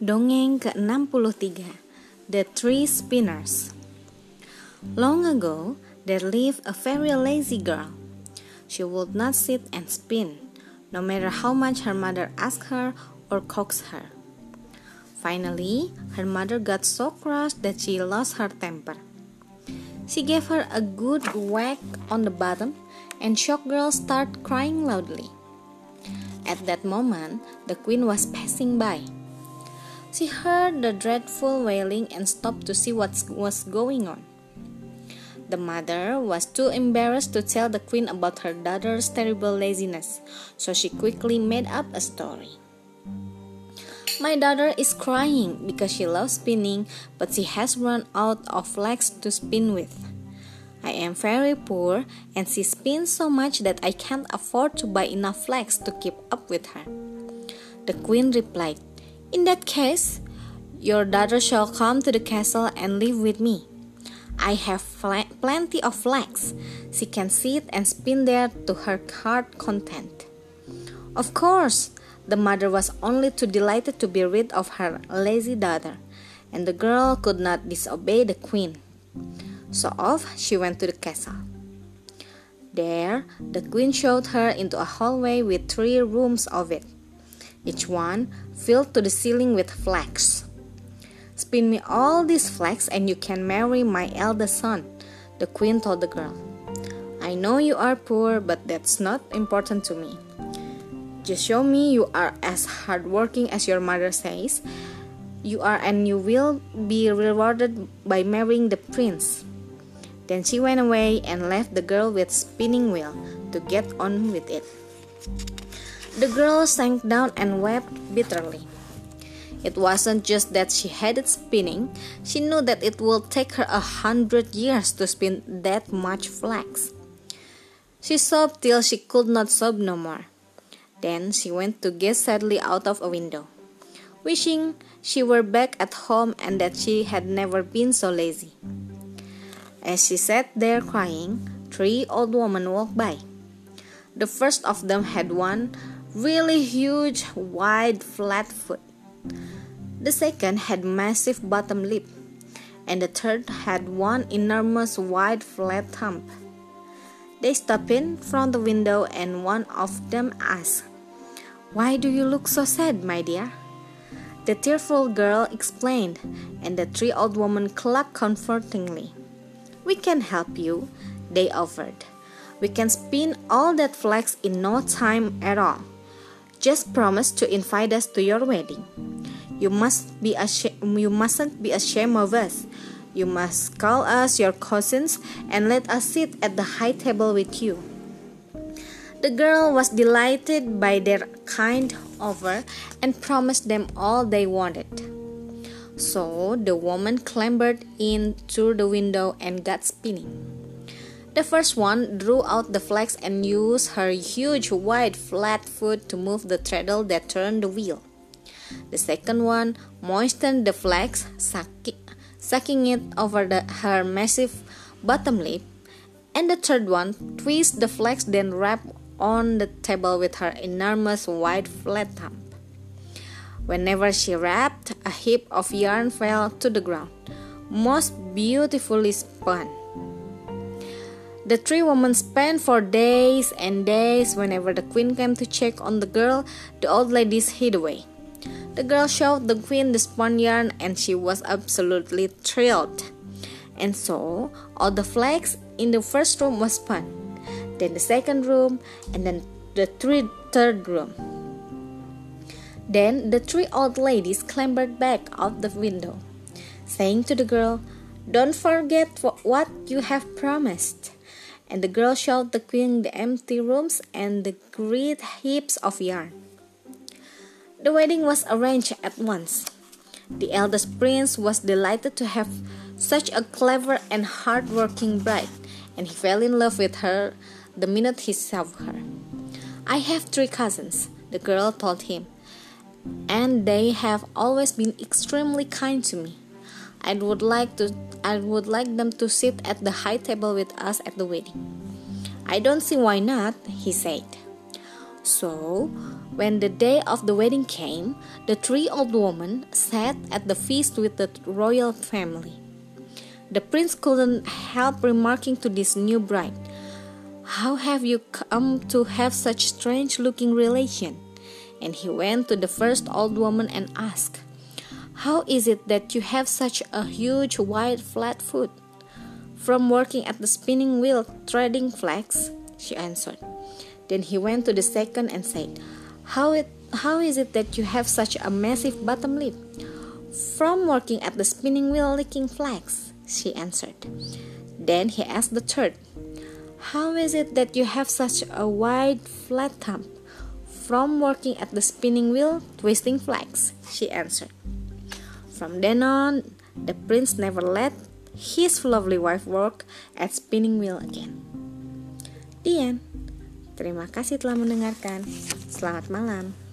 Dongeng ke-63, The Three Spinners. Long ago, there lived a very lazy girl. She would not sit and spin, no matter how much her mother asked her or coaxed her. Finally, her mother got so cross that she lost her temper. She gave her a good whack on the bottom, and shocked girl started crying loudly. At that moment, the queen was passing by. She heard the dreadful wailing and stopped to see what was going on. The mother was too embarrassed to tell the queen about her daughter's terrible laziness, so she quickly made up a story. My daughter is crying because she loves spinning, but she has run out of flax to spin with. I am very poor, and she spins so much that I can't afford to buy enough flax to keep up with her. The queen replied, "In that case, your daughter shall come to the castle and live with me. I have plenty of flax. She can sit and spin there to her heart content." Of course, the mother was only too delighted to be rid of her lazy daughter, and the girl could not disobey the queen. So off she went to the castle. There, the queen showed her into a hallway with 3 rooms of it, each one filled to the ceiling with flax. "Spin me all this flax and you can marry my eldest son," the queen told the girl. "I know you are poor, but that's not important to me. Just show me you are as hardworking as your mother says you are, and you will be rewarded by marrying the prince." Then she went away and left the girl with spinning wheel to get on with it. The girl sank down and wept bitterly. It wasn't just that she hated spinning, she knew that it would take her 100 years to spin that much flax. She sobbed till she could not sob no more. Then she went to gaze sadly out of a window, wishing she were back at home and that she had never been so lazy. As she sat there crying, 3 old women walked by. The first of them had one really huge, wide, flat foot. The second had massive bottom lip, and the third had one enormous, wide, flat thumb. They stopped in front of the window, and one of them asked, "Why do you look so sad, my dear?" The tearful girl explained, and the 3 old women clucked comfortingly. "We can help you," they offered. "We can spin all that flax in no time at all. Just promise to invite us to your wedding. You mustn't be ashamed of us. You must call us your cousins and let us sit at the high table with you." The girl was delighted by their kind offer and promised them all they wanted. So the woman clambered in through the window and got spinning. The first one drew out the flax and used her huge, wide, flat foot to move the treadle that turned the wheel. The second one moistened the flax, sucking it over her massive bottom lip, and the third one twisted the flax, then rapped on the table with her enormous, wide, flat thumb. Whenever she rapped, a heap of yarn fell to the ground, most beautifully spun. The 3 women spent for days and days. Whenever the queen came to check on the girl, the old ladies hid away. The girl showed the queen the spun yarn, and she was absolutely thrilled. And so, all the flax in the first room was spun, then the second room, and then the third room. Then the 3 old ladies clambered back out the window, saying to the girl, "Don't forget what you have promised." And the girl showed the queen the empty rooms and the great heaps of yarn. The wedding was arranged at once. The eldest prince was delighted to have such a clever and hard-working bride, and he fell in love with her the minute he saw her. "I have 3 cousins," the girl told him, "and they have always been extremely kind to me. I would like them to sit at the high table with us at the wedding." "I don't see why not," he said. So, when the day of the wedding came, the 3 old women sat at the feast with the royal family. The prince couldn't help remarking to this new bride, "How have you come to have such strange-looking relation?" And he went to the first old woman and asked, "How is it that you have such a huge, wide, flat foot?" "From working at the spinning wheel threading flax," she answered. Then he went to the second and said, How is it that you have such a massive bottom lip?" "From working at the spinning wheel licking flax," she answered. Then he asked the third, "How is it that you have such a wide, flat thumb?" "From working at the spinning wheel twisting flax," she answered. From then on, the prince never let his lovely wife work at spinning wheel again. The end. Terima kasih telah mendengarkan. Selamat malam.